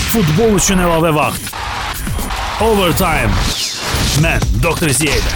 Futbol üçün əlavə vaxt. Overtime. Mən Dr. Ziya.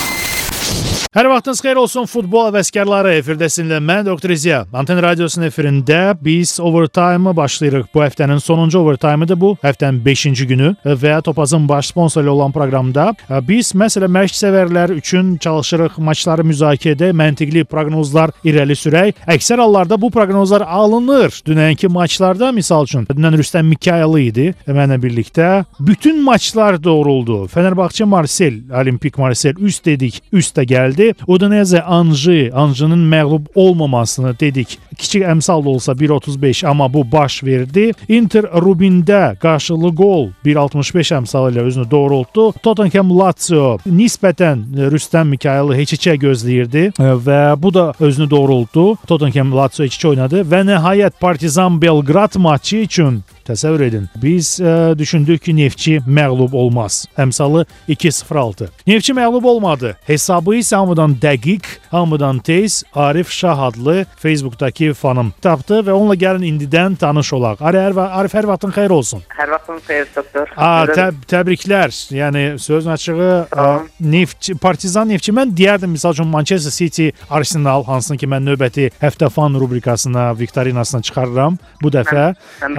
Hər vaxtınız xeyir olsun futbol həvəskarları. Efirdəsinizlə mən Dr. Ziya. Anten Radiosunun efirində biz Overtime-ı başlayırıq. Bu həftənin sonuncu Overtime-ıdır bu. Həftənin 5-ci günü və Topazın baş sponsoru olan proqramda biz məsələn məşq sevərlər üçün çalışırıq maçları müzakirə edək, məntiqli proqnozlar irəli sürək. Əksər hallarda bu proqnozlar alınır. Dünənki maçlarda misal üçün dünən Rüstəm Mikayılı idi mənlə birlikdə. Bütün maçlar doğruldu. Fenerbahçe Marsel, Olimpik Marsel üst dedik, üstə gəldi. Udinese Anjının məğlub olmamasını dedik. Kiçik əmsal da olsa 1.35 amma bu baş verdi. Inter Rubində qarşılıqlı gol 1.65 əmsalı ilə özünü doğrultdu. Tottenham Lazio nisbətən Rüstəm Mikayılı heç-heçə gözləyirdi və bu da özünü doğrultdu. Tottenham Lazio 2-2 oynadı və nəhayət Partizan Belgrad maçı üçün təsəvvür edin. Biz düşündük ki, Neftçi məğlub olmaz. Əmsalı 2.06. Neftçi məğlub olmadı. Hesabı isə hamıdan dəqiq, hamıdan tez Arif Şah adlı Facebook'dakı fanım tapdı və onunla gəlin indidən tanış olaq. Arif, hər vaxtın xeyir olsun. Hər vaxtın xeyir doktor. Təbriklər. Yəni sözün açığı Partizan Neftçi. Mən deyərdim misal üçün Manchester City Arsenal, hansını ki mən növbəti həftə fan rubrikasına, viktorinasına çıxarıram bu dəfə.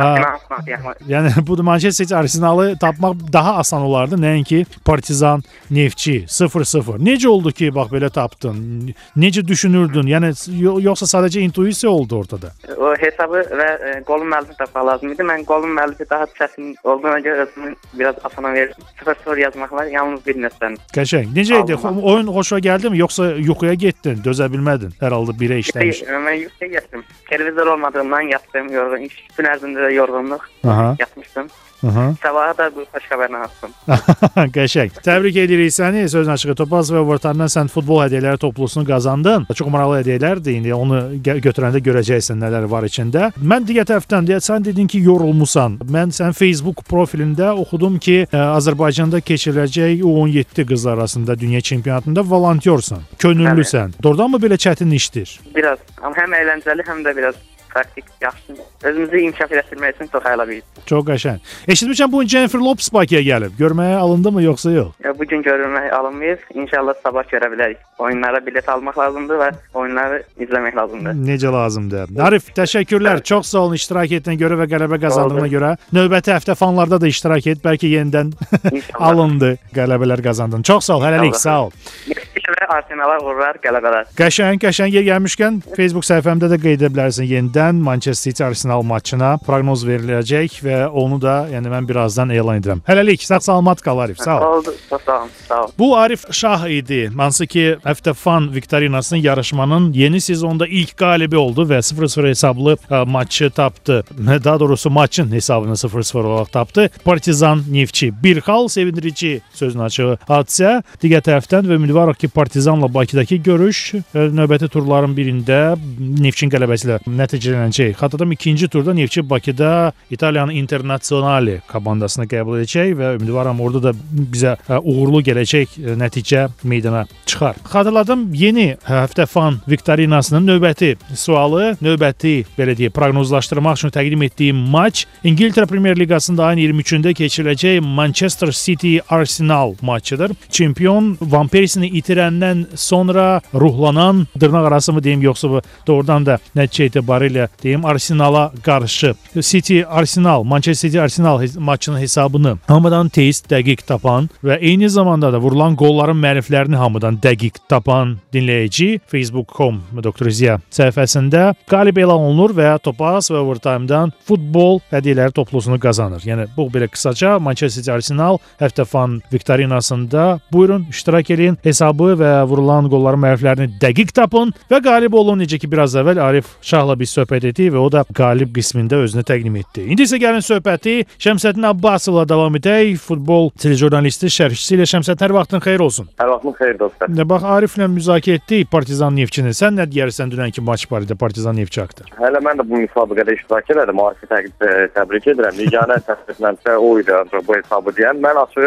Yəni bu Manchester City Arsenalı tapmaq daha asan olardı, nəinki Partizan Neftçi 0-0. Necə oldu ki, bax belə tapdın? Necə düşünürdün? Yəni yoxsa sadəcə intuisiya oldu ortada? O hesabı və qolun müəllifi tapmaq lazım idi. Mən qolun müəllifi daha çətin olduğuna görə özümü biraz asana verdim. 0-0 yazmaqlar yalnız bir nöqtədən. Qəşəng. Necə idi? Oyun xoşuna gəldimi yoxsa yuxuya getdin, dözə bilmədin? Hər halda birə işləmiş. Mən yuxuya getdim. Televizor olmadığından yatdım, yorğun. İş gün ərzində də yorğunluq. Yatmışdım. Sabaha da bu xoş xəbərini aldım. Qəşəng. Təbrik edirik səni. Sözün açığı Topaz və Overtime-dan sən futbol hədiyyələri toplusunu qazandın. Çox maraqlı hədiyyələrdir. İndi onu götürəndə görəcəksən nələr var içində. Mən digər tərəfdən sən dedin ki, yorulmusan. Mən sənin Facebook profilində oxudum ki, Azərbaycanda keçiriləcək U17 qızlar arasında dünya çempionatında volontyorsan. Könüllüsən. Doğrudanmı belə çətin işdir? Biraz. Amma həm əyləncəli, həm də biraz praktik, yaxşı. Özümüzü inkişaf etdirmək üçün çox əlavəyiz. Çox qəşəng. Eşitmişəm bu Jennifer Lopez Bakıya gəlib. Görməyə alındı mı yoxsa yox? Bu gün görülməyə alınmayız. İnşallah sabah görə bilərik. Oyunlara bilet almaq lazımdır və oyunları izləmək lazımdır. Necə lazımdır. Arif, təşəkkürlər. Çox sağ olun iştirak etdiyinə görə və qələbə qazandığına görə. Növbəti həftə fanlarda da iştirak et. Bəlkə yenidən alındı, qələbələr qazandın. Çox sağ ol. Hələlik, sağ ol. Və Arsenala uğurlar, qələbələr. Qəşəng yer gəlmişkən Facebook səhifəmdə də qeyd edə bilərsən. Yenidən Manchester City Arsenal maçına proqnoz veriləcək və onu da mən birazdan elan edirəm. Hələlik, sağ-salamat qal Arif. Sağ ol. Sağ ol. Bu Arif Şah idi. Hansı ki həftə fan viktorinasının yarışmanın yeni sezonda ilk qalibi oldu və 0-0 hesablı maçı tapdı. Daha doğrusu maçın hesabını 0-0 olaraq tapdı. Partizan Neftçi. Bir xal sevindirici sözün açığı hadisə. Digər tərəfdən və ümidvarıq ki, Partizanla Bakıdakı görüş növbəti turların birində Neftçinin qələbəsi ilə nəticələnəcək. Xatırladım, ikinci turda Neftçi Bakıda İtaliyanın Internazionale komandasını qəbul edəcək və ümidvaram orada da bizə uğurlu gələcək nəticə meydana çıxar. Xatırladım, yeni həftə fan viktorinasının növbəti sualı, növbəti belə deyək, proqnozlaşdırmaq üçün təqdim etdiyim maç İngiltərə Premyer Liqasında ayın 23-də keçiriləcək Manchester City Arsenal maçıdır. Çempion Van Persini itirəndən sonra ruhlanan, dırnaq arası mı deyim yoxsa bu doğrudan da nəticə etibarilə deyim Arsenala qarşı City Arsenal, Manchester City Arsenal maçının hesabını hamıdan tez, dəqiq tapan və eyni zamanda da vurulan qolların müəlliflərini hamıdan dəqiq tapan dinləyici Facebook.com Dr. Ziya səhifəsində qalib elan olunur və Topaz və Overtime-dan futbol hədiyyələri toplusunu qazanır. Yəni bu belə qısaca Manchester City Arsenal həftə fan viktorinasında buyurun iştirak edin, hesabı və vurulan qolların müəlliflərini dəqiq tapın və qalib olun. Necə ki biraz əvvəl Arif Şahla biz söhbət etdik və o da qalib qismində özünü təqdim etdi. İndi isə gəlin söhbəti Şəmsəddin Abbasovla davam edək. Futbol telejurnalisti, şərhçisi ilə. Şəmsəddin, hər vaxtın xeyir olsun. Hər vaxtın xeyir dostlar. Bax, Ariflə müzakirə etdik Partizan Neftçini. Sən nə deyərsən dünənki maç barədə Partizan Neftçi haqqında? Hələ mən də bu müsabiqədə iştirak edirəm. Arifi təbrik edirəm. Yeganə təsdiqlənsə o idi ancaq bu hesabı deyən. Mən açığı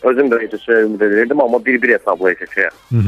Özüm də keçəcəyə ümid edirdim, amma 1-1 hesabla keçəcəyə.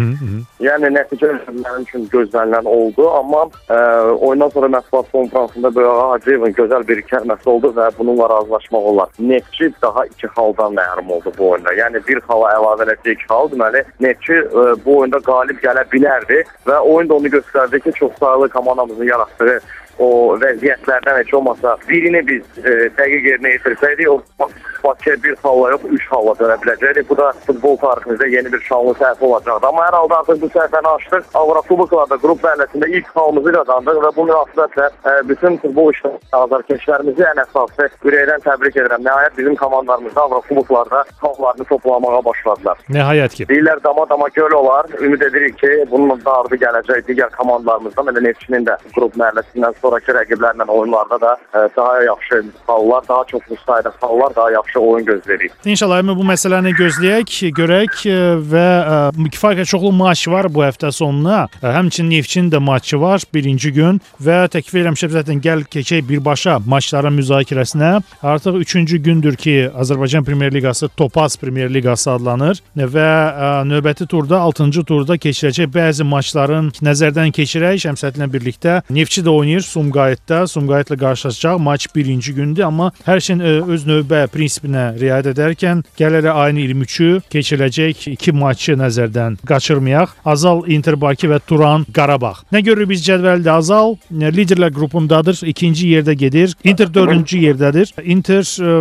Yəni nəticə mənim üçün gözlənilən oldu, amma oyundan sonra mətbuat konfransında Böyük Hacıyevin gözəl bir kəlməsi oldu və bununla razılaşmaq olar. Neftçi daha 2 xaldan məhrum oldu bu oyunda. Yəni bir xala əlavə edəcək 2 xal, deməli Neftçi bu oyunda qalib gələ bilərdi və oyun da onu göstərdi ki, çox sayılı komandamızın yaratdığı o vəziyyətlərdən heç olmasa birini biz dəqiq yerinə yetirsəydik, o Bakıya 1 xalla yox, 3 xalla dönə biləcəkdik. Bu da futbol tariximizdə yeni bir şanlı səhifə olacaqdı. Amma hər halda artıq bu səhifəni açdıq. Avrokuboklarda qrup mərhələsində ilk xalımızı qazandıq və bu münasibətlə bütün futbol azarkeşlərimizi ən əsası ürəkdən təbrik edirəm. Nəhayət bizim komandalarımız Avrokuboklarda xallarını toplamağa başladılar. Nəhayət ki. Deyirlər dama göl olar. Ümid edirik ki, bunun da ardı gələcək digər komandalarımızdan, elə Neftçinin də qrup mərhələsindən sonraki rəqiblərlə oyunlarda da daha yaxşı xallar, daha çoxlu sayda xallar, daha yaxşı oyun gözləyirik. İnşallah bu məsələni gözləyək, görək və kifayət çoxlu maç var bu həftə sonuna. Həmçinin Neftçinin də maçı var birinci gün və təklif edirəm zaten gəl keçək birbaşa maçların müzakirəsinə. Artıq 3-cü gündür ki, Azərbaycan Premyer Liqası Topaz Premyer Liqası adlanır və növbəti turda 6-cı turda keçiriləcək bəzi maçların nəzərdən keçirək. Şəmsədlə birlikdə Neftçi də oynayır Sumqayıtda. Sumqayıtla qarşılaşacaq. Maç birinci gündür, amma hər şeyin öz növbə prinsipinə riayət edərkən gəl ayın 23-ü keçiriləcək 2 maçı nəzərdən qaçırmayaq. Azal Inter Bakı və Turan Qarabağ. Nə görürük biz cədvəldə? Azal liderlər qrupundadır, 2-ci yerdə gedir. Inter 4-cü yerdədir. Inter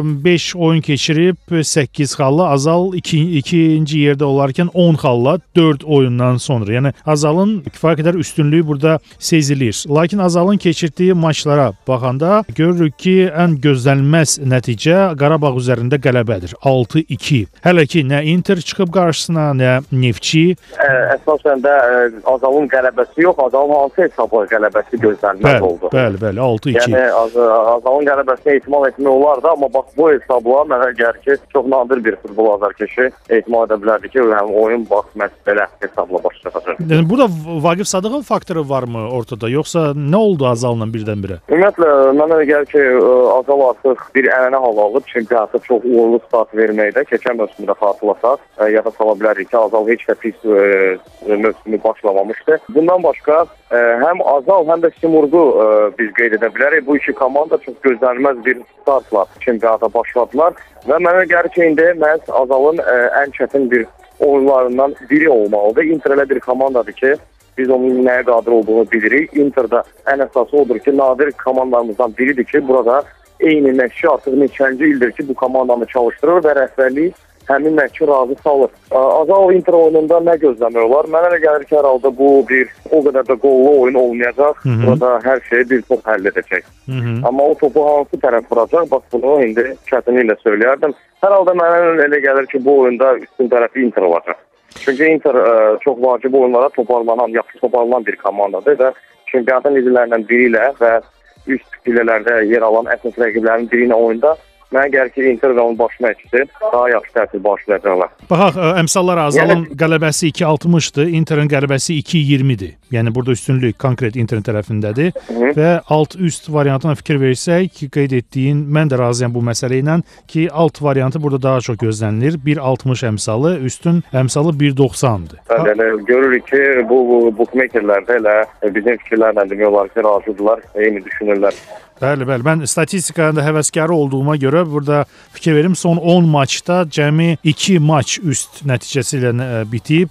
5 oyun keçirib 8 xalla, Azal 2-ci yerdə olarkən 10 xalla 4 oyundan sonra. Yəni Azalın kifayət qədər üstünlüyü burada sezilir. Lakin Azalın keçirdiyi maçlara baxanda görürük ki, ən gözlənilməz nəticə Qarabağ üzərində qələbədir. 6-2. Hələ ki, nə Inter çıxıb qarşısına, nə Neftçi. Əsasən də Azalın qələbəsi yox, Azalın hansı hesabla qələbəsi gözlənilməz oldu. Bəli, 6-2. Yəni Azalın qələbəsinə ehtimal etmək olardı, amma bax bu hesabla mənə gəlir ki, çox nadir bir futbol azarkeşi ehtimal edə bilərdi ki, oyun bax belə hesabla başlayacaq. Yəni burada Vaqif Sadıqov faktoru varmı ortada, yoxsa nə oldu Azal'la birdən-birə? Ümumiyyətlə, mənə gəlir ki, Azal artıq bir ənənə hal alıb, çünki artıq çox uğurlu start verməkdə. Keçən mövsümdə xatırlasaq, yada sala bilərik ki, Azal heç də pis mövsümü başlamamışdı. Bundan başqa, həm Azal, həm də Simurgu biz qeyd edə bilərik. Bu iki komanda çox gözlənilməz bir startla çempionata başladılar və mənə gəlir ki, indi məhz Azalın ən çətin bir oyunlarından biri olmalıdır. Inter elə bir komandadır ki, biz onun nəyə qadir olduğunu bilirik. Inter'da ən əsası odur ki, nadir komandalarımızdan biridir ki, burada eyni məşqçi artıq neçənci ildir ki, bu komandanı çalışdırır və rəhbərlik həmin məşqçi razı salır. Azal Inter oyununda nə gözləmək olar? Mənə elə gəlir ki, hər halda bu bir o qədər də qollu oyun olmayacaq. Burada hər şeyi bir top həll edəcək. Amma o topu hansı tərəf vuracaq? Bax, bunu indi çətinliklə söyləyərdim. Hər halda mənə elə gəlir ki, bu oyunda üstün tərəfi Inter olacaq. Çünki Inter çox vacib oyunlara yaxşı toparlanan bir komandadır və çempionatın liderlərindən biri ilə və üst pillələrdə yer alan əsas rəqiblərin biri ilə oyunda mənə gəlir ki, Inter və onun baş məşqçisi daha yaxşı təsir bağışlayacaqlar. Baxaq, əmsallar Azalın qələbəsi 2.60-dır, Interin qələbəsi 2.20-dir. Yəni burada üstünlük konkret Interin tərəfindədir və alt-üst variantına fikir versək ki, qeyd etdiyin, mən də razıyam bu məsələ ilə ki, alt variantı burada daha çox gözlənilir. 1.60 əmsalı, üstün əmsalı 1.90-dır. Yəni, görürük ki, bu bookmakerlər də elə bizim fikirlərlə demək olar ki, razıdırlar, eyni düşünürlər. Bəli. Mən statistikada həvəskarı olduğuma görə burada fikir verim. Son 10 maçda cəmi 2 maç üst nəticəsi ilə bitib.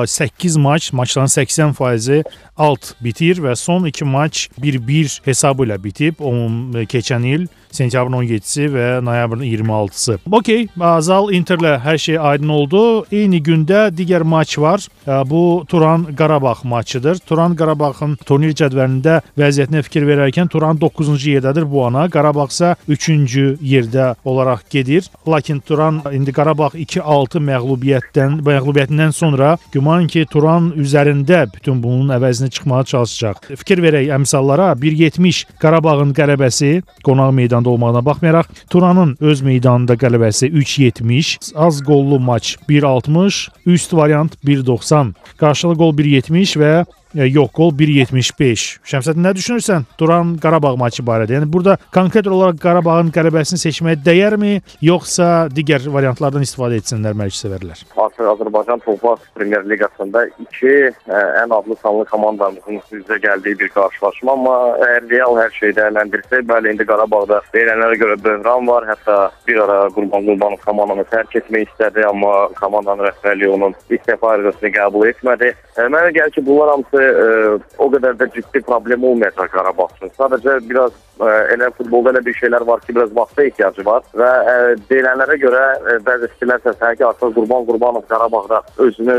8 maçların 80%-i alt bitir və son 2 maç 1-1 hesabı ilə bitib. Keçən il sentyabrın 17-si və noyabrın 26-sı. Okey, Azal Interlə hər şey aydın oldu. Eyni gündə digər maç var. Bu Turan Qarabağ maçıdır. Turan Qarabağın turnir cədvəlində vəziyyətinə fikir verərkən Turan 9-cu yerdədir bu ana. Qarabağ isə 3-cü yerdə olaraq gedir. Lakin Turan indi Qarabağ 2-6 məğlubiyyətindən sonra güman ki, Turan üzərində bütün bunun əvəzini çıxmağa çalışacaq. Fikir verək əmsallara. 1.70 Qarabağın qələbəsi qonaq meydanda olmağına baxmayaraq, Turanın öz meydanında qələbəsi 3.70, az qollu maç 1.60, üst variant 1.90, qarşılı qol 1.70 və yox qol 1.75. Şəmsəddin, nə düşünürsən Turan Qarabağ maçı barədə? Yəni burada konkret olaraq Qarabağın qələbəsini seçməyə dəyərmi, yoxsa digər variantlardan istifadə etsinlər mərkəzi sevərlər? Azərbaycan Topaz Premyer Liqasında iki ən adlı sanlı komandamızın üzə gəldiyi bir qarşılaşma, amma əgər real hər şeyi dəyərləndirsək, bəli, indi Qarabağda deyilənlərə görə böhran var. Hətta bir ara Qurban Qurbanov komandanı tərk etmək istədi, amma komandanın rəhbərliyi onun istefa arizasını qəbul etmədi. Mənə gəlir ki, bunlar hamısı o qədər də ciddi problem olmayacaq Qarabağ üçün. Sadəcə biraz elə futbolda elə bir şeylər var ki, biraz vaxta ehtiyacı var və deyilənlərə görə bəzi fikirlər səslənir ki, artıq Qurban Qurbanov Qarabağda özünü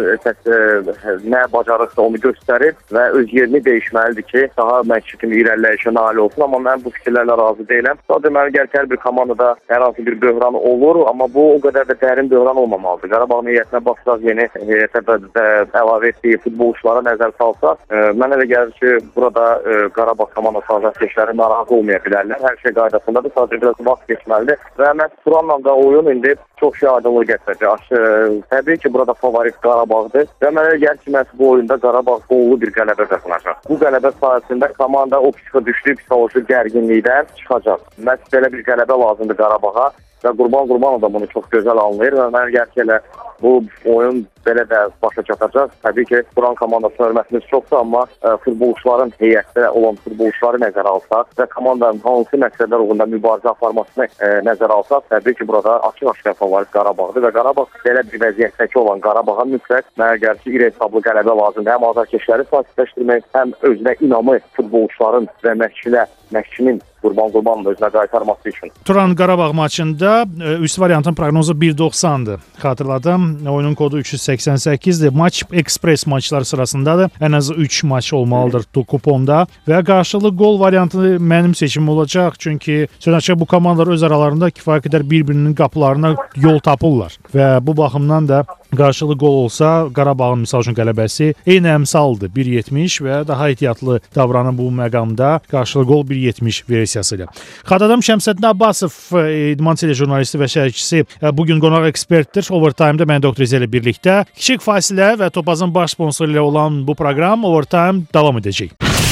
nə bacarırsa onu göstərir və öz yerini dəyişməlidir ki, daha məşqçi kimi irəliləyişə nail olsun. Amma mən bu fikirlərlə razı deyiləm. Sadəcə mənə gəlir ki, hər bir komandada hər hansı bir böhran olur, amma bu o qədər də dərin böhran olmamalıdır. Qarabağın heyətinə baxsaq, yeni heyətə əlavə etdiyi futbolçulara nəzər salsaq, mənə elə gəlir ki, burada Qarabağ komandası azarkeşləri narahat olmaya bilərlər. Hər şey qaydasındadır, sadəcə biraz vaxt geçməlidir və məhz Turanla da oyun indi çox şey aydınlıq gətirəcək. Təbii ki, burada favorit Qarabağdır və mənə elə gəlir ki, məhz bu oyunda Qarabağ qollu bir qələbə qazanacaq. Bu qələbə sayəsində komanda o düşdüyü psixoloji gərginlikdən çıxacaq. Məhz belə bir qələbə lazımdır Qarabağa və Qurban Qurbanov da bunu çox gözəl anlayır və mənə gəlir ki, elə bu oyun belə də başa çatacaq. Təbii ki, Turan komandasına hörmətimiz çoxdur, amma futbolçuların heyətdə olan futbolçuları nəzərə alsaq və komandanın hansı məqsədlər uğrunda mübarizə aparmasını nəzərə alsaq, təbii ki, burada açıq-aşkar favorit Qarabağdır və Qarabağ belə bir vəziyyətdəki olan Qarabağa mütləq mənə gəlir ki, iri hesablı qələbə lazımdır. Həm azarkeşləri sakitləşdirmək, həm özünə inamı futbolçuların və məşqçinin Qurban Qurbanov özünə qaytarması üçün. Turan Qarabağ maçında üst variantın proqnozu 1.90-dır. Xatırladım, oyunun kodu 388-dir. Maç ekspres maçlar sırasındadır. Ən azı 3 maç olmalıdır kuponda və qarşılıqlı gol variantı mənim seçimim olacaq. Çünki sözünə bu komandalar öz aralarında kifayət qədər bir-birinin qapılarına yol tapırlar və bu baxımdan da qarşılıqlı gol olsa Qarabağın misal üçün qələbəsi eyni əmsaldır 1.70 və daha ehtiyatlı davranın bu məqamda qarşılıqlı gol 1.70 versiyası ilə. Xatırladım, Şəmsəddin Abbasov, İdman telejurnalisti və şərhçisi bugün qonaq ekspertdir. Overtime-da mən Dr. İzə ilə birlikdə kiçik fasilə və Topazın baş sponsoru ilə olan bu proqram Overtime davam edəcək.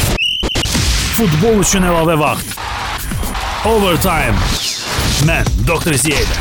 Futbol üçün əlavə vaxt. Overtime. Mən Dr. İzə ilə.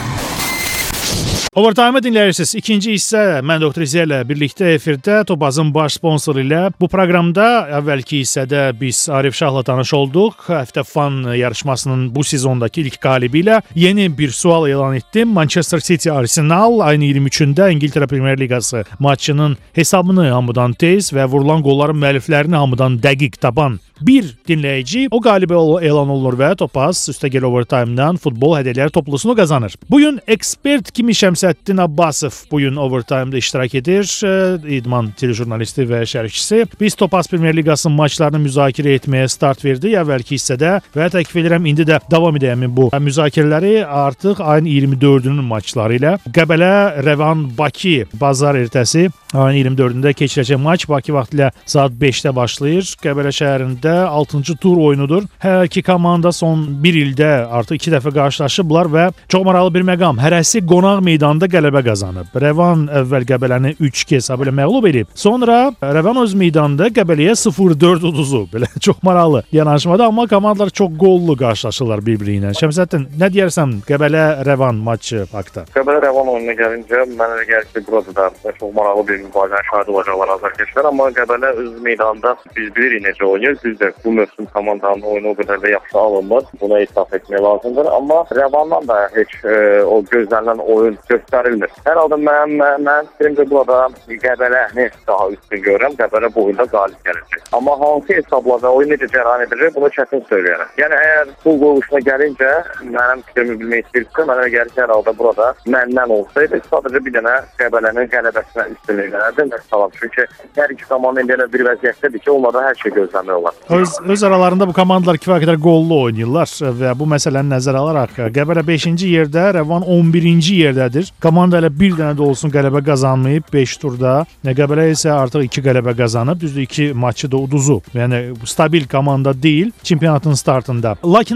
Overtime-ı dinləyirsiniz. İkinci hissə mən Dr. İzə ilə birlikdə efirdə Topazın baş sponsoru ilə. Bu proqramda əvvəlki hissədə biz Arif Şahla tanış olduq. Həftə Fan yarışmasının bu sezondakı ilk qalibi ilə yeni bir sual elan etdim. Manchester City Arsenal ayın 23-də İngiltərə Premyer Liqası maçının hesabını hamıdan tez və vurulan qolların müəlliflərini hamıdan dəqiq tapan bir dinləyici o qalibi elan olunur və Topaz üstəgəl Overtime-dan futbol hədiyyələri toplusunu qazanır. Bugün ekspert kimi Şəmsəddin Abbasov bugün Overtime-da iştirak edir. İdman telejurnalisti və şərhçisi. Biz Topaz Premyer Liqasının maçlarını müzakirə etməyə start verdik əvvəlki hissədə və təklif edirəm indi də davam edəyəm bu müzakirələri artıq ayın 24-ünün maçları ilə. Qəbələ Rəvan Bakı bazar ertəsi ayın 24-də keçiriləcək maç Bakı vaxtı ilə saat 5-də başlayır. Qəbələ şəhərində 6-cı tur oyunudur. Hər iki komanda son 1 ildə artıq 2 dəfə qarşılaşıblar və çox maraqlı bir məqam. Hərəsi qonaq meydanında qələbə qazanıb. Rəvan əvvəl Qəbələni 3-2 hesabı ilə məğlub edib. Sonra Rəvan öz meydanında Qəbələyə 0-4 uduzub. Belə çox maraqlı yanaşmada, amma komandalar çox qollu qarşılaşırlar bir-biri ilə. Şəmsəddin, nə deyərsən Qəbələ Rəvan maçı haqqında? Qəbələ Rəvan oyununa gəlincə mənə elə gəlir ki, burada da çox maraqlı bir mübarizənin şahidi olacaqlar azarkeşlər, amma Qəbələ öz meydanında biz bilirik necə oynayır. Biz də bu mövsüm komandanın oyunu o qədər də yaxşı alınmır. Buna etiraf etmək lazımdır. Amma Rəvandan da heç o gözlənilən oyun göstərilmir. Hər halda mən fikrimcə burada Qəbələni daha üstün görürəm. Qəbələ bu oyunda qalib gələcək. Amma hansı hesabla və oyun necə cərəyan edilir, bunu çətin söyləyərəm. Yəni əgər pul qoyuluşuna gəlincə, mənim fikrimi bilmək istəyirsə, mənə gəlir ki, hər halda burada məndən olsaydı, sadəcə bir dənə Qəbələnin qələbəsinə üstünlük verərdim və salam. Çünki hər iki komanda indi elə bir vəziyyətdədir ki, onlardan hər şey gözləmək olar. Öz aralarında bu komandalar kifayət qədər qollu oynayırlar və bu məsələni nəzərə alaraq Qəbələ 5-ci yerdə, Rəvan 11-ci yerdədir. Komanda elə bir dənə də olsun qələbə qazanmayıb 5 turda. Qəbələ isə artıq 2 qələbə qazanıb. Düzdür, 2 maçı da uduzub. Yəni stabil komanda deyil çempionatın startında. Lakin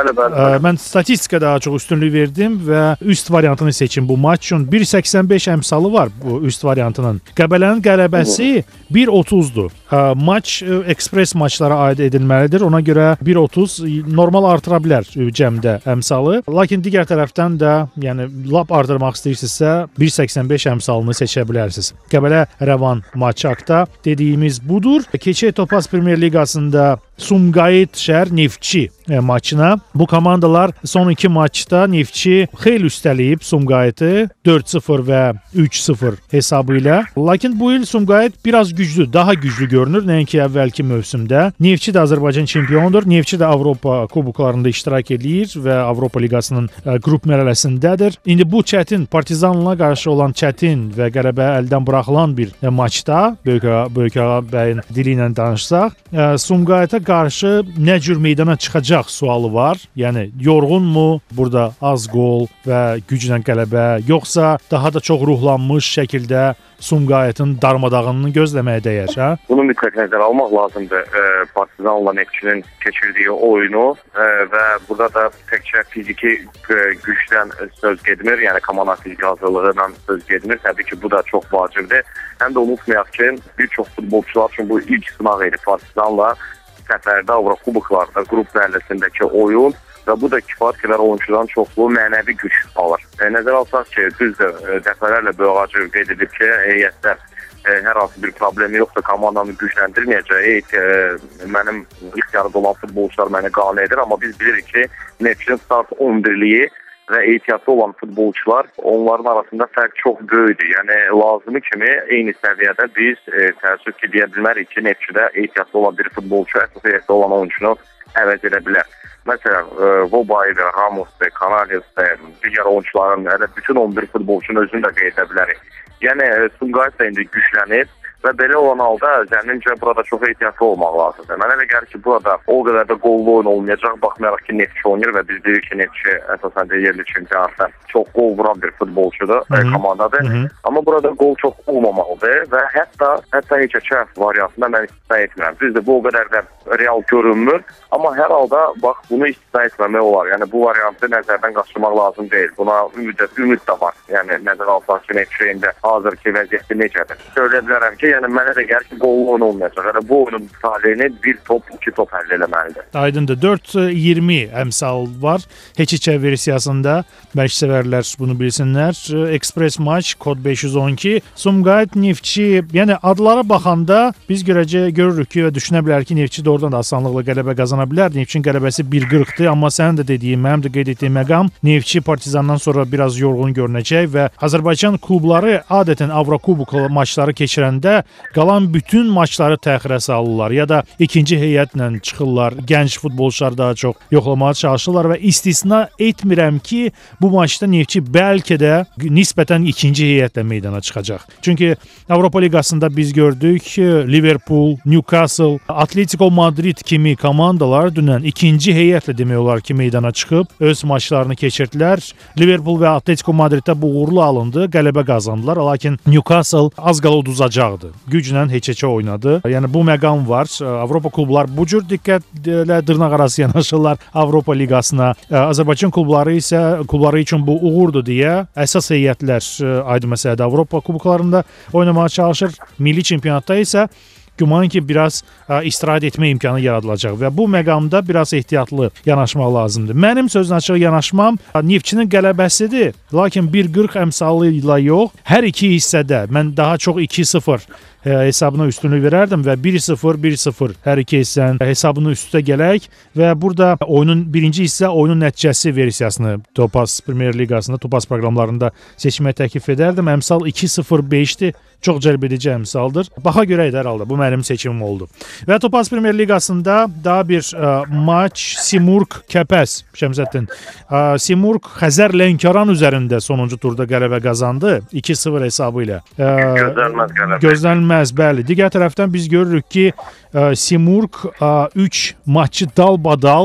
mən statistikə daha çox üstünlük verdim və üst variantını seçim bu maç üçün. 1.85 əmsalı var bu üst variantının. Qəbələnin qələbəsi 1.30-dur. Maç ekspres maçlara aid edilməlidir. Ona görə 1.30 normal artıra bilər cəmdə əmsalı. Lakin digər tərəfdən də, yəni lap artırmaq istəyirsinizsə 1.85 əmsalını seçə bilərsiniz. Qəbələ Rəvan maçı haqda dediyimiz budur. Keçək Topaz Premyer Liqasında Sumqayıt şəhər Neftçi maçına. Bu komandalar son 2 maçda Neftçi xeyli üstələyib Sumqayıtı 4-0 və 3-0 hesabı ilə. Lakin bu il Sumqayıt biraz güclü, daha güclü görünür nəinki əvvəlki mövsümdə. Neftçi də Azərbaycan çempionudur. Neftçi də Avropa kuboklarında iştirak edir və Avropa Liqasının qrup mərhələsindədir. İndi bu çətin Partizanla qarşı olan çətin və qələbə əldən buraxılan bir maçda Böyük Ağa bəyin dili ilə danışsaq, Sumqayıta qarşı nə cür meydana çıxacaq sualı var. Yəni yorğunmu, burada az qol və güclə qələbə, yoxsa daha da çox ruhlanmış şəkildə Sumqayıtın darmadağınını gözləməyə dəyər, hə? Bunu mütləq nəzərə almaq lazımdır. Partizanla Neftçinin keçirdiyi oyunu və burada da təkcə fiziki gücdən söz getmir, yəni komanda fiziki hazırlığından söz getmir. Təbii ki, bu da çox vacibdir. Həm də unutmayaq ki, bir çox futbolçular üçün bu ilk sınaq idi Partizanla səfərdə Avrokuboklarda qrup mərhələsindəki oyun və bu da kifayət qədər oyunçudan çoxlu mənəvi güc alır. Nəzərə alsaq ki, düzdür, dəfələrlə Böyük qeyd edib ki, heyətdə hər hansı bir problemi yoxdur, komandanı gücləndirməyəcək. Mənim ilk yarıda olan futbolçular məni qane edir, amma biz bilirik ki, Neftçinin start 11-liyi və ehtiyatlı olan futbolçular, onların arasında fərq çox böyükdür. Yəni, lazımı kimi eyni səviyyədə biz təəssüf ki, deyə bilmərik ki, Neftçidə ehtiyatlı olan bir futbolçu əsas heyətdə olan oyunçunu əvəz edə bilər. Məsələn, Vobay'dır, Ramos'dur, Kanalius'dur, digər oyunçuların, bütün 11 futbolçunun özünü də qeyd edə bilərik. Yəni, Sumqayıt da indi güclənir və belə olan halda zənnimcə burada çox ehtiyatlı olmaq lazımdır. Mənə elə gəlir ki, burada o qədər də qollu oyun olmayacaq, baxmayaraq ki, Neftçi oynayır və biz deyirik ki, Neftçi əsasən də yerli çempionatda çox qol vuran bir futbolçudur, komandadır. Amma burada qol çox olmamalıdır və hətta heçəkə variantında mən istisna etmirəm. Düzdür, bu o qədər də real görünmür, amma hər halda bax, bunu istisna etməmək olar. Yəni, bu variantı nəzərdən qaçırmaq lazım deyil. Buna ümid də var. Yəni, nəzərə alsaq ki, Neftçinin hazırki vəziyyəti necədir? Söyləyə bilərəm ki, yəni mənə də gəlir ki, qollu oyun olmayacaq. Yəni bu oyunun taleyini 1 top, 2 top həll eləməlidir. Aydındır. 4-20 əmsal var. Heç-içə versiyasında. Bəlkə sevərlər bunu bilsinlər. Ekspres maç, kod 512. Sumqayıt, Neftçi, yəni adlara baxanda biz görürük ki və düşünə bilər ki, Neftçi doğrudan da asanlıqla qələbə qazana bilər. Neftçinin qələbəsi 1.40-dır, amma sənin də dediyin, mənim də qeyd etdiyim məqam, Neftçi Partizandan sonra biraz yorğun görünəcək və Azərbaycan klubları adətən Avrokubok maçları keçirəndə qalan bütün maçları təxirə salırlar ya da ikinci heyətlə çıxırlar. Gənc futbolçular daha çox yoxlamağa çalışırlar və istisna etmirəm ki, bu maçda Neftçi bəlkə də nisbətən ikinci heyətlə meydana çıxacaq. Çünki Avropa Liqasında biz gördük ki, Liverpool, Newcastle, Atletico Madrid kimi komandalar dünən ikinci heyətlə demək olar ki, meydana çıxıb öz maçlarını keçirdilər. Liverpool və Atletico Madriddə bu uğurlu alındı, qələbə qazandılar. Lakin Newcastle az qala uduzacaqdı. Güclə heç-heçə oynadı. Yəni bu məqam var. Avropa klublar bu cür diqqətlə dırnaqarası yanaşırlar Avropa Liqasına. Azərbaycan klubları üçün bu uğurdur deyə əsas heyətlər aydın məsələdə Avropa kuboklarında oynamağa çalışır. Milli çempionatda isə güman ki, biraz istirahət etmə imkanı yaradılacaq və bu məqamda biraz ehtiyatlı yanaşmaq lazımdır. Mənim sözün açıq yanaşmam Neftçinin qələbəsidir, lakin 1.40 əmsalı ilə yox, hər iki hissədə mən daha çox 2-0 hesabına üstünlük verərdim və 1-0, 1-0 hər iki hissənin hesabını üstə gələk və burada oyunun birinci hissə oyunun nəticəsi versiyasını Topaz Premyer Liqasında, Topaz proqramlarında seçməyə təklif edərdim. Əmsal 2-0-5-dir. Çox cəlb edici əmsaldır. Baxa görək hər halda bu mənim seçimim oldu. Və Topaz Premyer Liqasında daha bir maç Simurq Kəpəz Şəmsəddin. Simurq Xəzər Lənkəran üzərində sonuncu turda qələbə qazandı 2-0 hesabı ilə. Gözlənməz qələbə. Gözlənməz, bəli. Digər tərəfdən biz görürük ki, Simurq 3 maçı dalbadal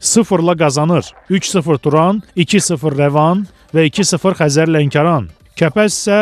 0-la qazanır. 3-0 Turan, 2-0 Rəvan və 2-0 Xəzər Lənkəran. Kəpəz isə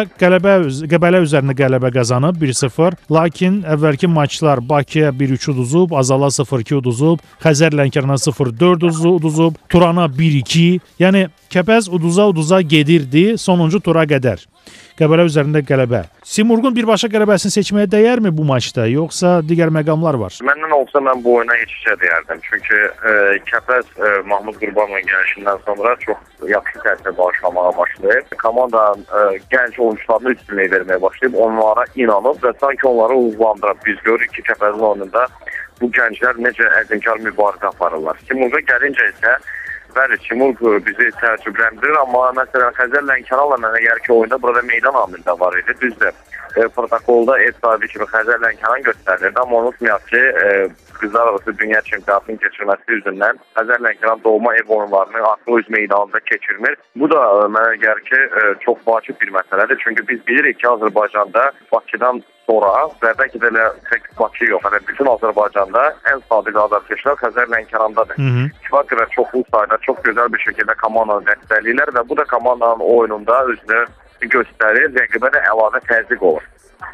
Qəbələ üzərində qələbə qazanıb 1-0. Lakin əvvəlki maçlar Bakıya 1-3 uduzub, Azala 0-2 uduzub, Xəzər Lənkərana 0-4 uduzub, Turana 1-2. Yəni Kəpəz uduza gedirdi sonuncu tura qədər. Qəbələ üzərində qələbə. Simurqun birbaşa qələbəsini seçməyə dəyərmi bu maçda, yoxsa digər məqamlar var? Məndən olsa mən bu oyuna yetişə deyərdim. Çünki Kəpəz Mahmud Qurbanovun gəlişindən sonra çox yaxşı təsir bağışlamağa başlayıb. Komandanın gənc oyuncularını üstünlük verməyə başlayıb, onlara inanıb və sanki onları uğurlandırıb. Biz görürük ki, Kəpəzin oyununda bu gənclər necə əzmkar mübarizə aparırlar. Simurqa gəlincə isə bəli, Timur bizi təəccübləndirir, amma məsələn Xəzər Lənkəranla mənə gəlir ki, oyunda burada meydan amili də var idi. Düzdür, protokolda ev sahibi kimi Xəzər Lənkəran göstərilirdi, amma unutmayaq ki, qızlar arası dünya çempionatının keçirməsi üzündən Xəzər Lənkəran doğma ev oyunlarını artıq öz meydanında keçirmir. Bu da mənə gəlir ki, çox vacib bir məsələdir. Çünki biz bilirik ki, Azərbaycanda Bakıdan sonra və bəlkə də tək Bakı yox, bütün Azərbaycanda ən sadiq azarkeşlər Xəzər Lənkərandadır. Kifayət qədər çoxlu sayda, çox gözəl bir şəkildə komandanı dəstəkləyirlər və bu da komandanın oyununda özünü göstərir, rəqibə də əlavə təzyiq olur.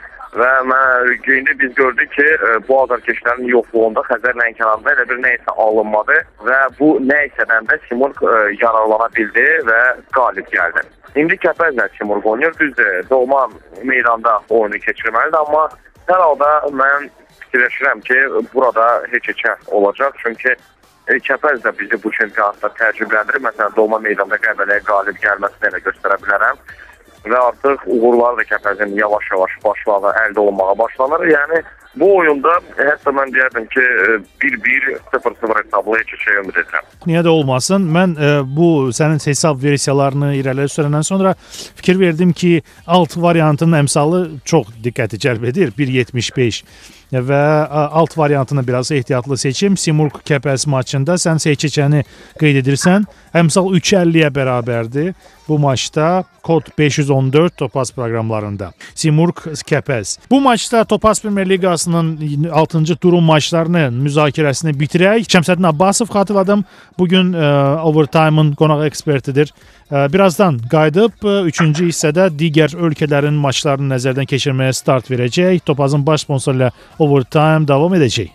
Və indi biz gördük ki, bu azarkeşlərin yoxluğunda Xəzər Lənkəranda elə bir nə isə alınmadı və bu nə isədən də Simurq yararlana bildi və qalib gəldi. İndi Kəpəzlə Simurq oynayır, düzdür, doğma meydanda oyunu keçirməlidir, amma hər halda mən fikirləşirəm ki, burada heç-heçə olacaq, çünki Kəpəz də bizi bu çempionatda təəccübləndirir. Məsələn, doğma meydanda Qəbələyə qalib gəlməsini elə göstərə bilərəm və artıq uğurlar da Kəpəzin yavaş-yavaş başlağı əldə olmağa başlanır. Yəni, bu oyunda hətta mən deyərdim ki, 1-1, 0-0 hesablı heç ümid edirəm. Niyə də olmasın? Mən bu sənin hesab versiyalarını irəliyə sürəndən sonra fikir verdim ki, alt variantının əmsalı çox diqqəti cəlb edir. 1.75 və alt variantını biraz ehtiyatlı seçim. Simurq Kəpəz maçında sən seçicəni qeyd edirsən. Əmsal 3.50-yə bərabərdir. Bu maçda kod 514 Topaz proqramlarında. Simurq Kəpəz. Bu maçda Topaz Premyer Liqasının 6-cı turun maçlarını müzakirəsini bitirək. Şəmsəddin Abbasov xatırladım. Bugün Overtime-ın qonaq ekspertidir. Birazdan qayıdıb 3-cü hissədə digər ölkələrin maçlarını nəzərdən keçirməyə start verəcək. Topazın baş sponsoru ilə Overtime davam edəcək.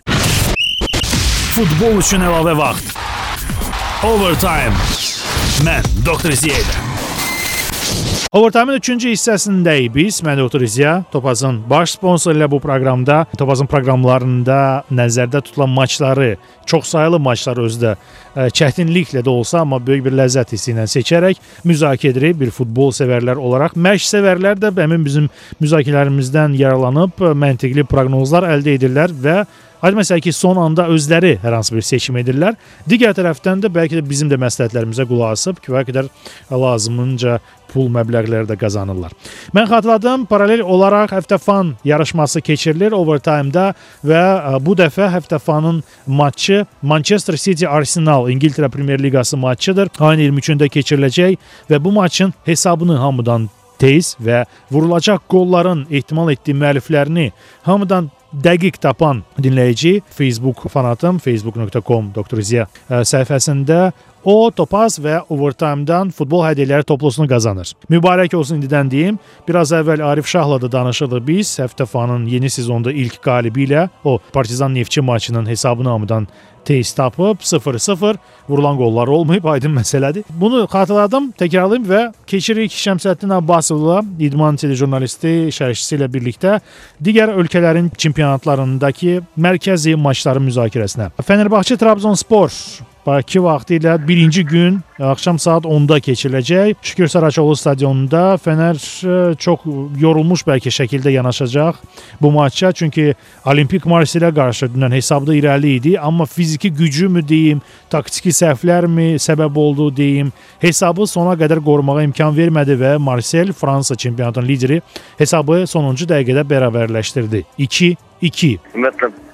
Futbol üçün əlavə vaxt. Overtime. Mən Dr. Ziyədə. Overtime-ın 3-cü hissəsindəyik biz. Mən Dr. Ziya, Topazın baş sponsoru ilə bu proqramda, Topazın proqramlarında nəzərdə tutulan maçları, çoxsaylı maçları özdə çətinliklə də olsa, amma böyük bir ləzzət hissi ilə seçərək müzakirə edirik bir futbol sevərlər olaraq. Məşq sevərlər də həmin bizim müzakirələrimizdən yararlanıb məntiqli proqnozlar əldə edirlər və aydın məsələ ki, son anda özləri hər hansı bir seçim edirlər. Digər tərəfdən də bəlkə də bizim də məsləhətlərimizə qulaq asıb kifayət qədər lazımınca pul məbləğləri də qazanırlar. Mən xatırladım, paralel olaraq Həftəfan yarışması keçirilir Overtime-da və bu dəfə Həftəfanın matçı Manchester City Arsenal İngiltərə Premyer Liqası matçıdır. Ayın 23-də keçiriləcək və bu maçın hesabını hamıdan tez və vurulacaq qolların ehtimal etdiyi müəlliflərini hamıdan dəqiq tapan dinləyici Facebook fanatım facebook.com Dr. Ziya səhifəsində o Topaz və Overtime-dan futbol hədiyyələri toplusunu qazanır. Mübarək olsun indidən deyim. Biraz əvvəl Arif Şahla da danışırdıq biz. Həftəfanın yeni sezonda ilk qalibi ilə o Partizan Neftçi maçının hesabını hamıdan tez tapıb 0-0 vurulan qollar olmayıb, aydın məsələdir. Bunu xatırladım, təkrarlayım və keçirik Şəmsəddin Abbasovla, idman telejurnalisti, şərhçisi ilə birlikdə digər ölkələrin çempionatlarındakı mərkəzi maçların müzakirəsinə. Fenerbahçe Trabzonspor Bakı vaxtı ilə birinci gün axşam saat 10-da keçiriləcək. Şükür Saraçoğlu stadionunda Fener çox yorulmuş bəlkə şəkildə yanaşacaq bu maça. Çünki Olimpik Marseille qarşı dünən hesabda irəli idi. Amma fiziki gücü mü deyim, taktiki səhvlərmi səbəb oldu deyim, hesabı sona qədər qorumağa imkan vermədi və Marseille, Fransa çempionatının lideri hesabı sonuncu dəqiqədə bərabərləşdirdi. 2-2. Ümumiyyətlə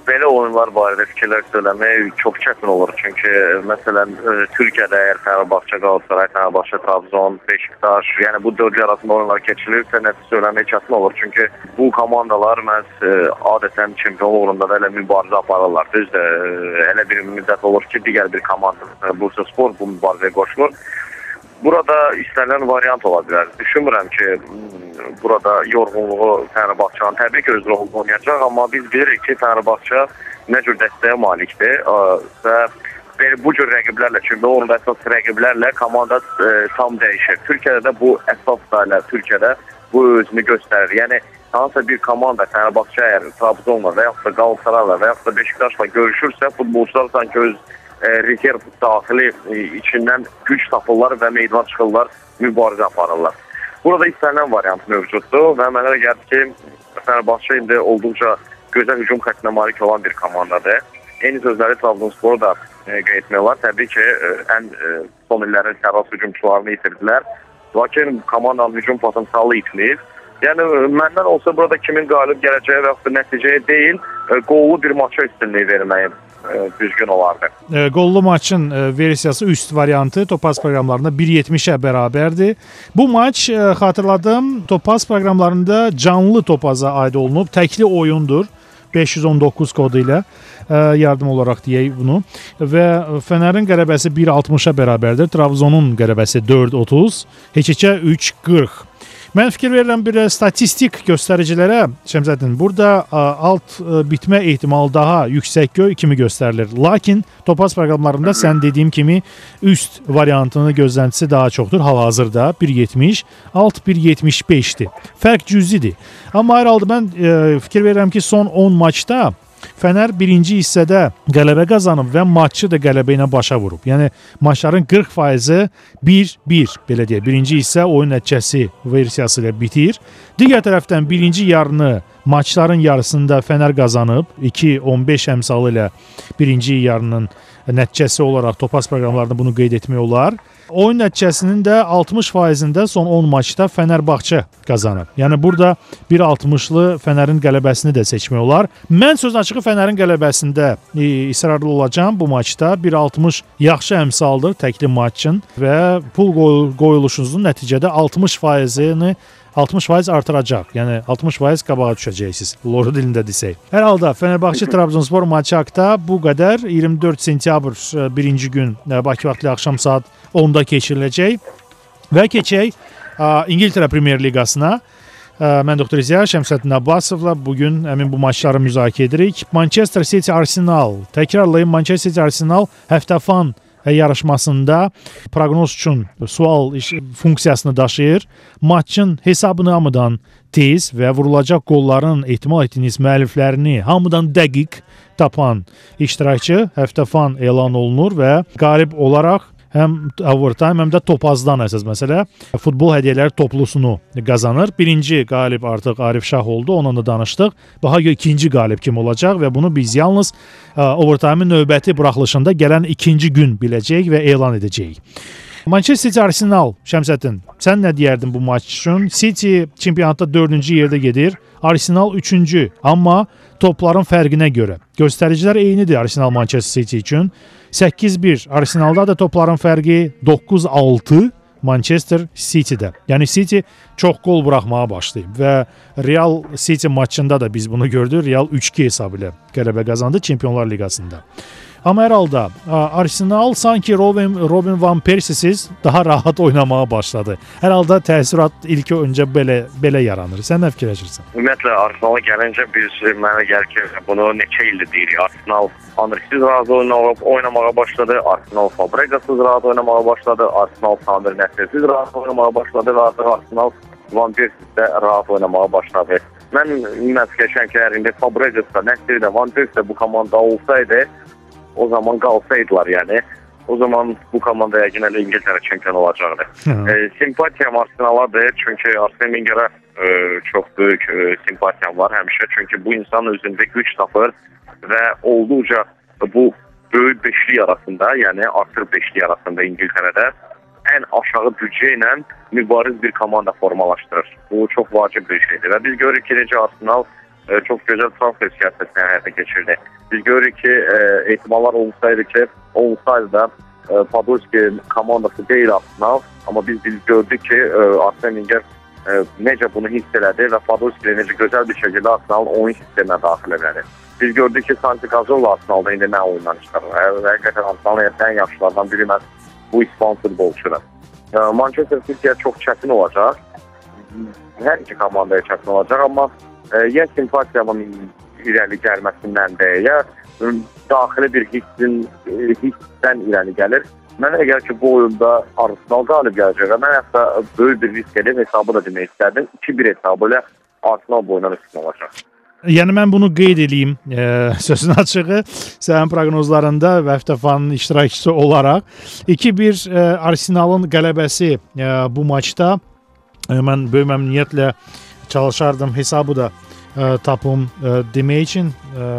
belə oyunlar barədə fikirlər söyləmək çox çətin olur. Çünki məsələn Türkiyədə əgər Fenerbahçe, Galatasaray, Fenerbahçe, Trabzon, Beşiktaş, yəni bu dördü arasında oyunlar keçirilirsə nəticə söyləmək çətin olur. Çünki bu komandalar məhz adətən çempionluq uğrunda da elə mübarizə aparırlar. Düzdür, elə bir müddət olur ki, digər bir komanda Bursaspor bu mübarizəyə qoşulur. Burada istənilən variant ola bilər. Düşünmürəm ki, burada yorğunluğu Fenerbahçe'nin təbii ki öz rolunu oynayacaq, amma biz bilirik ki, Fenerbahçe nə cür dəstəyə malikdir və bu cür rəqiblərlə, çünki onun əsas rəqiblərlə komanda tam dəyişir. Türkiyədə də bu əsaslarla Türkiyədə bu özünü göstərir. Yəni hansısa bir komanda Fenerbahçe əgər Trabzonla və yaxud da Galatasarayla və yaxud da Beşiktaşla görüşürsə, futbolçular sanki öz rezerv daxili içindən güc tapırlar və meydana çıxırlar, mübarizə aparırlar. Burada istənilən variant mövcuddur və mənə gəlir ki, Fenerbahçe indi olduqca gözəl hücum xəttinə malik olan bir komandadır. Eyni sözləri Trabzonsporu da qeyd etmək olar. Təbii ki, ən son illərin sərras hücumçularını itirdilər. Lakin komandanın hücum potensialı itilib. Yəni, məndən olsa burada kimin qalib gələcəyi və yaxud da nəticəyə deyil, qollu bir maça üstünlüyü verməyim düzgün olardı. Qollu maçın versiyası üst variantı Topaz proqramlarında 1.70-ə bərabərdir. Bu maç xatırladım, Topaz proqramlarında canlı Topaza aid olunub, təkli oyundur. 519 kodu ilə yardım olaraq deyək bunu və Fənərin qələbəsi 1.60-a bərabərdir. Trabzonun qələbəsi 4.30, heç-heçə 3.40. Mən fikir verirəm bir statistik göstəricilərə, Şəmsəddin, burada alt bitmə ehtimalı daha yüksək kimi göstərilir. Lakin Topaz proqramlarında sən dediyim kimi üst variantının gözləntisi daha çoxdur. Hal-hazırda 1.70, alt 1.75-dir. Fərq cüzidir. Amma hər halda mən fikir verirəm ki, son 10 maçda Fənər birinci hissədə qələbə qazanıb və maçı da qələbə ilə başa vurub. Yəni maçların 40%-i 1-1 belə deyək. Birinci hissə oyun nəticəsi versiyası ilə bitir. Digər tərəfdən birinci yarını maçların yarısında Fənər qazanıb 2-15 əmsalı ilə birinci yarının nəticəsi olaraq Topaz proqramlarında bunu qeyd etmək olar. Oyun nəticəsinin də 60%-ində son 10 maçda Fənərbahçe qazanıb. Yəni burada 1.60-lı Fənərin qələbəsini də seçmək olar. Mən söz açığı Fənərin qələbəsində israrlı olacağam bu maçda. 1.60 yaxşı əmsaldır təkli maçın və pul qoyuluşunuzun nəticədə 60%-ni 60% artıracaq. Yəni 60% qabağa düşəcəksiniz. Loru dilində desək. Hər halda Fenerbahçe Trabzonspor maçı haqqında bu qədər. 24 sentyabr birinci gün Bakı vaxtı axşam saat 10-da keçiriləcək və keçək İngiltərə Premyer Liqasına. Mən Doktor İzya Şəmsəddin Abbasovla bugün həmin bu maçları müzakirə edirik. Manchester City Arsenal. Təkrarlayım, Manchester City Arsenal həftəfan yarışmasında proqnoz üçün sual funksiyasını daşıyır. Maçın hesabını hamıdan tez və vurulacaq qolların ehtimal etdiyiniz müəlliflərini hamıdan dəqiq tapan iştirakçı həftəfan elan olunur və qalib olaraq həm overtime, həm də topazdan əsas məsələ futbol hədiyyələri toplusunu qazanır. Birinci qalib artıq Arif Şah oldu, onunla da danışdıq. Daha ikinci qalib kim olacaq və bunu biz yalnız overtime-in növbəti buraxılışında gələn ikinci gün biləcəyik və elan edəcəyik. Manchester City Arsenal, Şəmsəddin, sən nə deyərdin bu maç üçün? City çempionatda 4-cü yerdə gedir, Arsenal 3-cü, amma topların fərqinə görə. Göstəricilər eynidir Arsenal Manchester City üçün. 8-1 Arsenalda da topların fərqi 9-6 Manchester City'də. Yəni City çox gol buraxmağa başlayıb və Real City maçında da biz bunu gördük. Real 3-2 hesabı ilə qələbə qazandı Çempionlar Liqasında. Amma hər halda Arsenal sanki Robin Van Persie'siz daha rahat oynamağa başladı. Hər halda təəssürat ilk öncə belə yaranır. Sən nə fikirləşirsən? Ümumiyyətlə Arsenala gəlincə biz mənə gəlir ki, bunu neçə ildir deyirik. Arsenal Andrisiz rahat oynamağa başladı. Arsenal Fabregasız rahat oynamağa başladı. Arsenal Samir Nəsrsiz rahat oynamağa başladı və artıq Arsenal Van Persie'də rahat oynamağa başladı. Mən fikirləşirəm ki, indi Fabregasda, Nəsrdə, Van Persie bu komanda olsaydı, o zaman qalsaydılar, yəni o zaman bu komanda yəqin İngiltərə çempionu olacaqdı. Simpatiyam Arsenaladır, çünki Arsene Wengerə çox böyük simpatiyam var həmişə, çünki bu insan özündə güc tapır və olduqca bu böyük beşlik arasında, yəni artıq beşlik arasında İngiltərədə ən aşağı büdcə ilə mübariz bir komanda formalaşdırır. Bu çox vacib bir şeydir və biz görürük ki, necə Arsenal çox gözəl transfer siyasətini həyata keçirdi. Biz görürük ki, ehtimallar olsaydı da Podolski komandası deyil Arsenal, amma biz gördük ki, Arsene Wenger necə bunu hiss elədi və Podolski necə gözəl bir şəkildə Arsenalın oyun sisteminə daxil elədi. Biz gördük ki, Santi Cazorla Arsenalda indi nə oyundan çıxarır. Həqiqətən Arsenalın ən yaxşılardan biri məhz bu İspan futbolçudur. Manchester City'yə çox çətin olacaq. Hər iki komandaya çətin olacaq, amma ya simpatiyamın irəli gəlməsindən də, ya daxili bir hissdən irəli gəlir. Mənə gəlir ki, bu oyunda Arsenal qalib gələcək və mən hətta böyük bir risk edib hesabı da demək istərdim. 2-1 hesabı ilə Arsenal bu oyundan üstün olacaq. Yəni mən bunu qeyd edeyim, sözün açığı, sənin proqnozlarında və Həftəfanın iştirakçısı olaraq 2-1 Arsenalın qələbəsi bu maçda mən böyük məmnuniyyətlə çalışardım hesabı da tapım demək üçün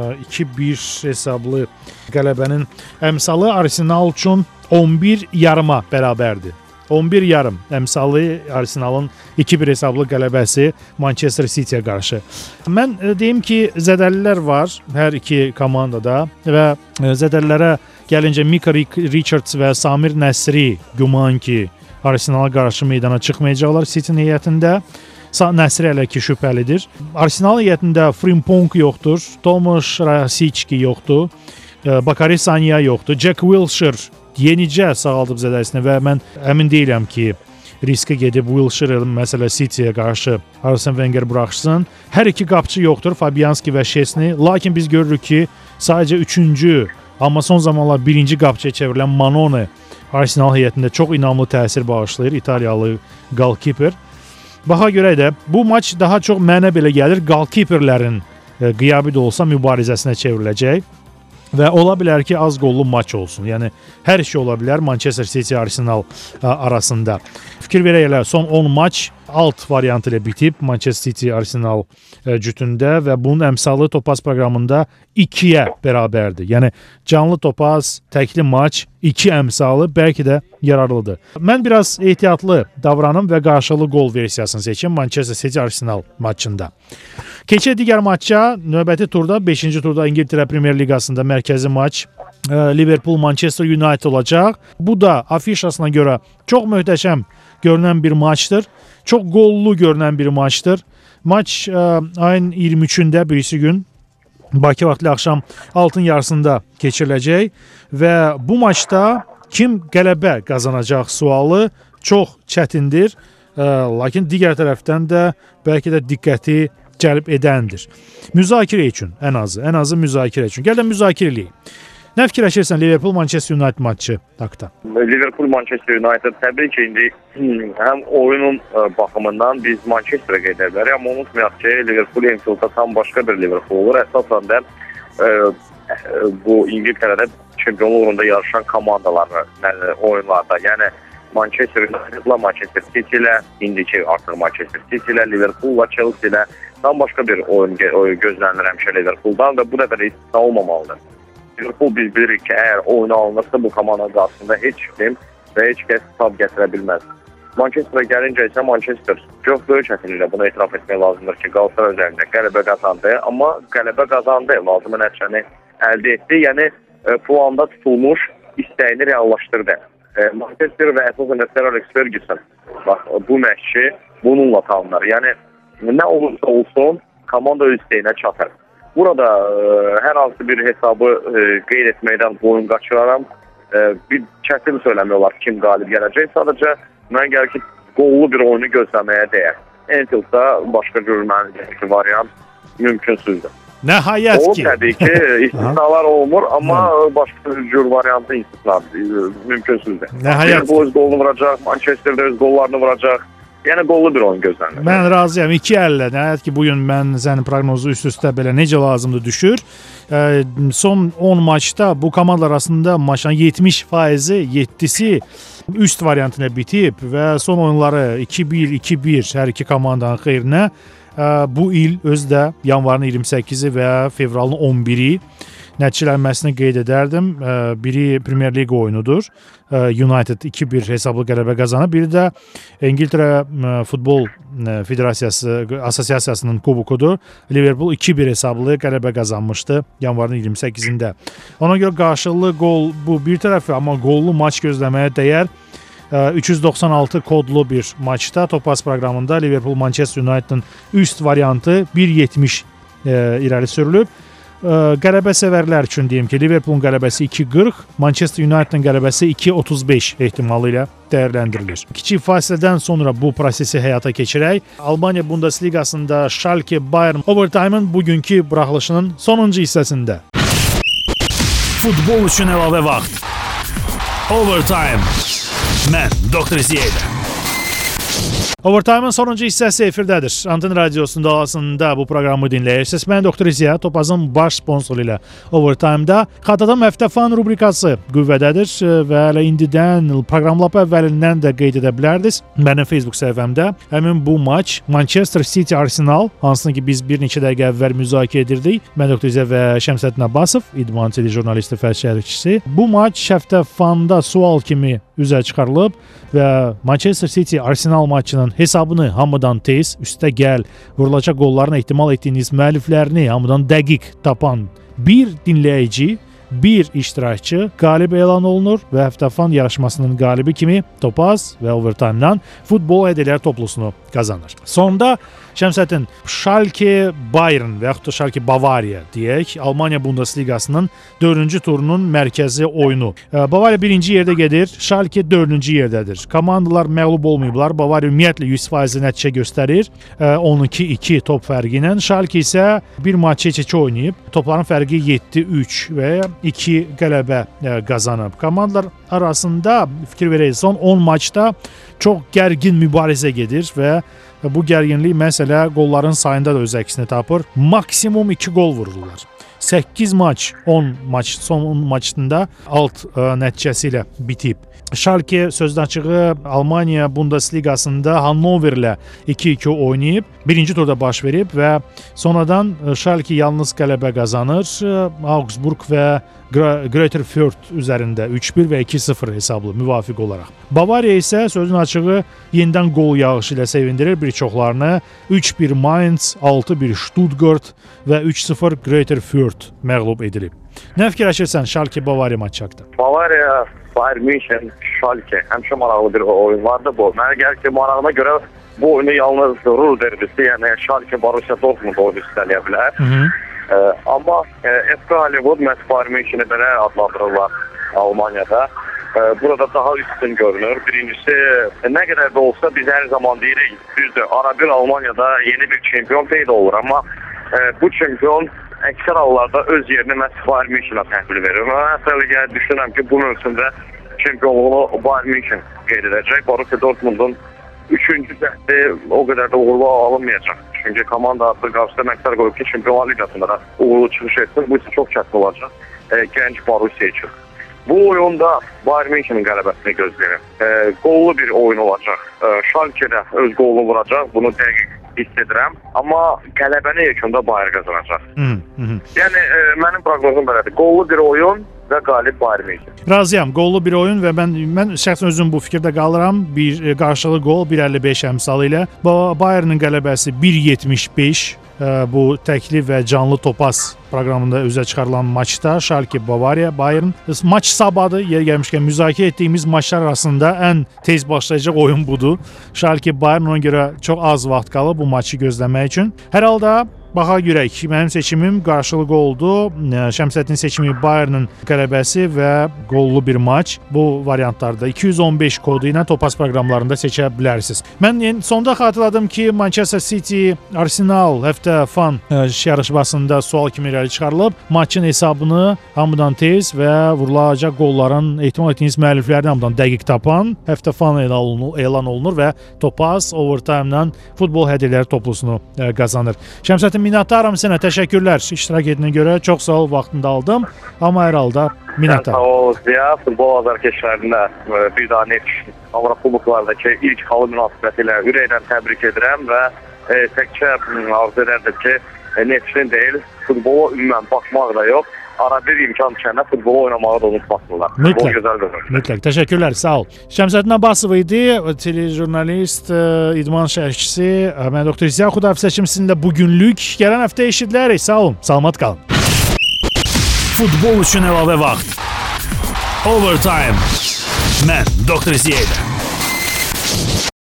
2-1 hesablı qələbənin əmsalı Arsenal üçün 11 yarıma bərabərdir. 11 yarım əmsalı Arsenalın 2-1 hesablı qələbəsi Manchester City'yə qarşı. Mən deyim ki, zədəlilər var hər iki komandada və zədəlilərə gəlincə Mika Richards və Samir Nəsri güman ki, Arsenala qarşı meydana çıxmayacaqlar City heyətində. Nəsri hələ ki şübhəlidir. Arsenal heyətində Frimpong yoxdur, Tomasz Rasiczki yoxdur, Bakary Sagna yoxdur, Jack Wilshere yenicə sağaldıb zədəlisini və mən əmin deyiləm ki, riskə gedib Wilshere məsələ City'yə qarşı Arsene Wenger buraxsın. Hər iki qapçı yoxdur, Fabianski və Szczesny. Lakin biz görürük ki, sadəcə 3-cü, amma son zamanlar 1-ci qapçıya çevrilən Manone Arsenal heyətində çox inamlı təsir bağışlayır, İtaliyalı goalkeeper. Baxa görə də bu maç daha çox mənə belə gəlir, goalkeeperlərin qiyabı da olsa mübarizəsinə çevriləcək. Və ola bilər ki, az qollu maç olsun. Yəni, hər şey ola bilər Manchester City Arsenal arasında. Fikir verək elə, son 10 maç alt variantı ilə bitib Manchester City Arsenal cütündə və bunun əmsalı Topaz proqramında 2-yə bərabərdir. Yəni, canlı Topaz, təkli maç, 2 əmsalı bəlkə də yararlıdır. Mən biraz ehtiyatlı davranım və qarşılıqlı gol versiyasını seçim Manchester City Arsenal maçında. Keçək digər maçça, növbəti turda, 5-ci turda İngiltərə Premier Liqasında mərkəzi maç Liverpool-Manchester United olacaq. Bu da afişasına görə çox möhtəşəm görünən bir maçdır. Çox qollu görünən bir maçdır. Maç ayın 23-də birisi gün Bakı vaxtlı axşam altın yarısında keçiriləcək və bu maçda kim qələbə qazanacaq sualı çox çətindir. Lakin digər tərəfdən də bəlkə də diqqəti cəlb edəndir. Müzakirə üçün ən azı müzakirə üçün. Gəl də müzakirə eləyək. Nə fikirləşirsən Liverpool-Manchester United maçı haqda? Liverpool-Manchester United təbii ki, indi həm oyunun baxımından biz Manchesterə qeyd edə bilərik, amma unutmayaq ki, Liverpool Anfield'da tam başqa bir Liverpool olur. Əsasən də bu İngiltərədə çempionluq uğrunda yarışan komandalar oyunlarda. Yəni Manchester United'la, Manchester City ilə, indiki artıq Manchester City ilə, Liverpool'la, Chelsea ilə tam başqa bir oyun gözlənilir həmişə Liverpool'dan və bu dəfə də istisna olmamalıdır. Liverpool biz bilirik ki, əgər oyuna alınırsa bu komandanın qarşısında heç kim və heç kəs tab gətirə bilməz. Manchester'a gəlincə isə Manchester çox böyük çətinliklə bunu etiraf etmək lazımdır ki, Galatasaray üzərində qələbə qazandı, amma qələbə qazandı, lazımı nəticəni əldə etdi, yəni planda tutulmuş istəyini reallaşdırdı. Manchester və əsasən Sir Alex Ferguson, bax, bu məşqçi bununla tanınır. Yəni nə olursa olsun, komanda öz istəyinə çatır. Burada hər hansı bir hesabı qeyd etməkdən boyun qaçıraram. Bir çətin söyləmək olar kim qalib gələcək. Sadəcə mən gəlir ki, qollu bir oyunu gözləməyə dəyər. Anfield'da başqa görülməli variant mümkünsüzdür. Nəhayət ki. O təbii ki, istisnalar olmur, amma başqa bir cür variantı istisnadır, mümkünsüzdür. Nəhayət ki. Bu öz qolunu vuracaq, Manchester'da öz qollarını vuracaq. Yəni qollu bir oyun gözlənilir. Mən razıyam. 2-50. Nəhayət ki, bugün mən sənin proqnozu üst-üstə belə necə lazımdır düşür. Son 10 maçda bu komandalar arasında maçın 70%-i, 7-si üst variantına bitib və son oyunları 2-1, 2-1 hər iki komandanın xeyrinə bu il özdə yanvarın 28-i və fevralın 11-i nəticələnməsini qeyd edərdim. Biri Premier Liga oyunudur. United 2-1 hesablı qələbə qazanıb. Biri də İngiltərə futbol Federasiyası Assosiasiyasının kubokudur. Liverpool 2-1 hesablı qələbə qazanmışdı yanvarın 28-də. Ona görə qarşılıqlı gol bu bir tərəfi, amma qollu maç gözləməyə dəyər. 396 kodlu bir maçda Topaz proqramında Liverpool Manchester United'ın üst variantı 1.70 irəli sürülüb. Qələbə sevərlər üçün deyim ki, Liverpoolun qələbəsi 2.40, Manchester United'ın qələbəsi 2.35 ehtimalı ilə dəyərləndirilir. Kiçik fasilədən sonra bu prosesi həyata keçirək. Almaniya Bundesliqasında Schalke Bayern overtime-ın bugünkü buraxılışının sonuncu hissəsində. Futbol üçün əlavə vaxt. Overtime. Mən Dr. Ziyədə. Overtime-ın sonuncu hissəsi efirdədir. Anten Radiosunun dalasında bu proqramı dinləyirsiniz. Mən Dr. Ziya, Topazın baş sponsoru ilə Overtime-da Xatadam Həftə Fan rubrikası qüvvədədir və elə indidən proqram lap əvvəlindən də qeyd edə bilərdiniz. Mənim Facebook səhifəmdə həmin bu maç Manchester City Arsenal, hansını ki biz bir neçə dəqiqə əvvəl müzakirə edirdik. Mən Dr. Ziya və Şəmsəddin Abbasov, İdman TV jurnalisti və şərhçisi. Bu maç Həftə Fanda sual kimi üzə çıxarılıb və Manchester City Arsenal maçının hesabını hamıdan tez, üstə gəl, vurulacaq qolların ehtimal etdiyiniz müəlliflərini hamıdan dəqiq tapan bir dinləyici, bir iştirakçı qalib elan olunur və Həftəfan yarışmasının qalibi kimi Topaz və Overtime-dan futbol hədiyələr toplusunu qazanır. Sonda Şəmsəddin, Schalke Bayern və yaxud da Schalke Bavariya deyək, Almaniya Bundesliqasının 4-cü turunun mərkəzi oyunu. Bavariya 1-ci yerdə gedir, Schalke 4-cü yerdədir. Komandalar məğlub olmayıblar. Bavariya ümumiyyətlə 100% nəticə göstərir. 12-2 top fərqi ilə. Schalke isə bir maç heç-heç oynayıb. Topların fərqi 7-3 və 2 qələbə qazanıb. Komandalar arasında fikir verək, son 10 maçda çox gərgin mübarizə gedir və bu gərginlik məsələ qolların sayında da öz əksini tapır. Maksimum 2 qol vururlar. 8 maç, 10 maç, son 10 maçında alt nəticəsi ilə bitib. Schalke sözdən açığı Almaniya Bundesliqasında Hannoverlə 2-2 oynayıb, birinci turda baş verib və sonradan Schalke yalnız qələbə qazanır. Augsburg və Greuther Fürth üzərində 3-1 və 2-0 hesablı müvafiq olaraq. Bavariya isə sözün açığı yenidən qol yağışı ilə sevindirir bir çoxlarını. 3-1 Mainz, 6-1 Stuttgart və 3-0 Greuther Fürth məğlub edilib. Nə fikirləşirsən Schalke Bavariya maçı haqqında? Bavariya, Bayern München, Schalke həmişə maraqlı bir oyun vardı bu. Mənə gəlir ki, marağına görə bu oyunu yalnız Ruhr derbisi, yəni Schalke Borussia Dortmund oyunu üstələyə bilər. Amma FK Hollywood məhz Bayern München'i belə adlandırırlar Almaniyada. Burada daha üstün görünür. Birincisi, nə qədər də olsa biz hər zaman deyirik, düzdür, arabir Almaniyada yeni bir çempion peyda olur, amma bu çempion əksər hallarda öz yerini məhz Bayern München'ə təhvil verir. Mən əsələ düşünürəm ki, bu mövsümdə çempionluğunu Bayern München qeyd edəcək. Borussia Dortmund'un 3-cü cəhdi o qədər də uğurlu alınmayacaq. Çünki komanda artıq qarşıda məqsəd qoyub ki, Çempionlar Liqasında da uğurlu çıxış etsin. Bu isə çox çətin olacaq gənc Borussia üçün. Bu oyunda Bayern München'in qələbəsini gözləyirəm. Qollu bir oyun olacaq. Schalke də öz qolunu vuracaq. Bunu dəqiq hiss edirəm. Amma qələbəni yekunda Bayern qazanacaq. Yəni mənim proqnozum belədir. Qollu bir oyun və qalib Bayern München. Razıyam. Qollu bir oyun və mən şəxsən özüm bu fikirdə qalıram. Bir qarşılıqlı qol 1.55 əmsalı ilə. Bayern'ın qələbəsi 1.75. Bu təkli və canlı Topaz proqramında üzə çıxarılan maçda Schalke Bavariya Bayern maç sabahı yer gəlmişkən müzakirə etdiyimiz maçlar arasında ən tez başlayacaq oyun budur. Schalke Bayern ona görə çox az vaxt qalıb bu maçı gözləmək üçün. Hər halda baxa görək. Mənim seçimim qarşılıqlı oldu. Şəmsəddin seçimi Bayern'ın qələbəsi və qollu bir maç. Bu variantlarda 215 kodu ilə Topaz proqramlarında seçə bilərsiniz. Mən sonda xatırladım ki, Manchester City Arsenal həftə fan yarışmasında sual kimi irəli çıxarılıb. Maçın hesabını hamıdan tez və vurulacaq qolların ehtimal etdiyiniz müəlliflərini hamıdan dəqiq tapan həftə fan elan olunur və Topaz overtime-dan futbol hədiyələri toplusunu qazanır. Şəmsəddin, minnətdaram sənə, təşəkkürlər iştirak etdiyinə görə, çox sağ ol, vaxtında aldım, amma hər halda minnətdaram. Sağ ol Ziya, futbol azarkeşlərində bir daha Neft Avrokuboklardakı ilk halı münasibəti ilə ürəkdən təbrik edirəm və təkcə arzu edərdim ki, Neftin deyil, futbola ümumən baxmaq da yox, arada bir imkan düşəndə futbol oynamağı da unutmasınlar. Mütləq. Futbol gözəl bir oyun. Mütləq. Təşəkkürlər, sağ ol. Şəmsəddin Abbasov idi, telejurnalist, idman şərhçisi. Mən Doktor Ziya Xudafizəçim sizinlə bugünlük. Gələn həftə eşidilərik. Sağ olun. Salamat qalın. Futbol üçün əlavə vaxt. Overtime. Mən Doktor Ziya.